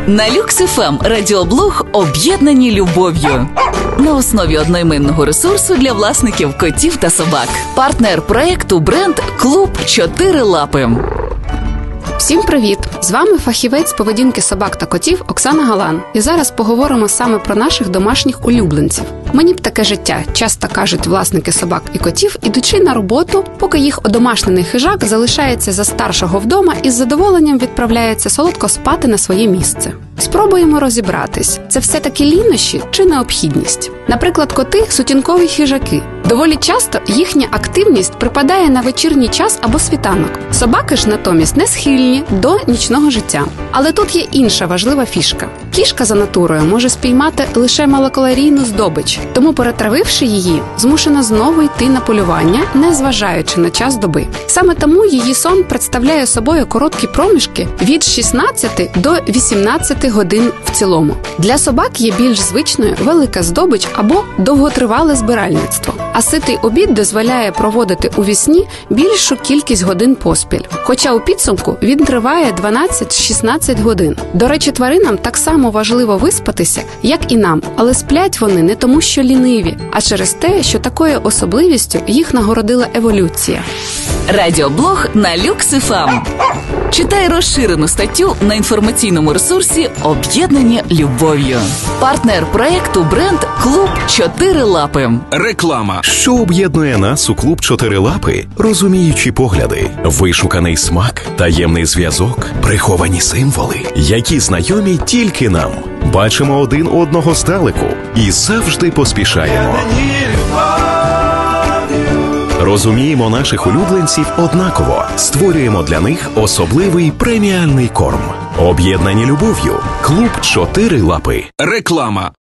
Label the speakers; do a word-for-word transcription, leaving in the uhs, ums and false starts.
Speaker 1: На Люкс еф ем радіоблог «Об'єднані любов'ю». На основі одноіменного ресурсу для власників котів та собак. Партнер проєкту бренд «Клуб Чотири Лапи».
Speaker 2: Всім привіт! З вами фахівець з поведінки собак та котів Оксана Галан. І зараз поговоримо саме про наших домашніх улюбленців. Мені б таке життя, часто кажуть власники собак і котів, ідучи на роботу, поки їх одомашнений хижак залишається за старшого вдома і з задоволенням відправляється солодко спати на своє місце. Спробуємо розібратись, це все-таки лінощі чи необхідність? Наприклад, коти – сутінкові хижаки. Доволі часто їхня активність припадає на вечірній час або світанок. Собаки ж натомість не схильні до нічного життя. Але тут є інша важлива фішка. Кішка за натурою може спіймати лише малокалорійну здобич, тому, перетравивши її, змушена знову йти на полювання, не зважаючи на час доби. Саме тому її сон представляє собою короткі проміжки від шістнадцяти до вісімнадцяти годин в цілому. Для собак є більш звичною велика здобич або довготривале збиральництво. А ситий обід дозволяє проводити у вісні більшу кількість годин поспіль. Хоча у підсумку він триває дванадцять-шістнадцять годин. До речі, тваринам так само важливо виспатися, як і нам, але сплять вони не тому, що ліниві, а через те, що такою особливістю їх нагородила еволюція.
Speaker 1: Радіоблог на Люкс еф ем. Читай розширену статтю на інформаційному ресурсі «Об'єднані любов'ю». Партнер проєкту бренд «Клуб Чотири Лапи».
Speaker 3: Реклама.
Speaker 4: Що об'єднує нас у клуб Чотири Лапи? Розуміючі погляди, вишуканий смак, таємний зв'язок, приховані символи, які знайомі тільки нам. Бачимо один одного здалеку і завжди поспішаємо. Розуміємо наших улюбленців однаково, створюємо для них особливий преміальний корм. Об'єднані любов'ю. Клуб Чотири Лапи.
Speaker 3: Реклама.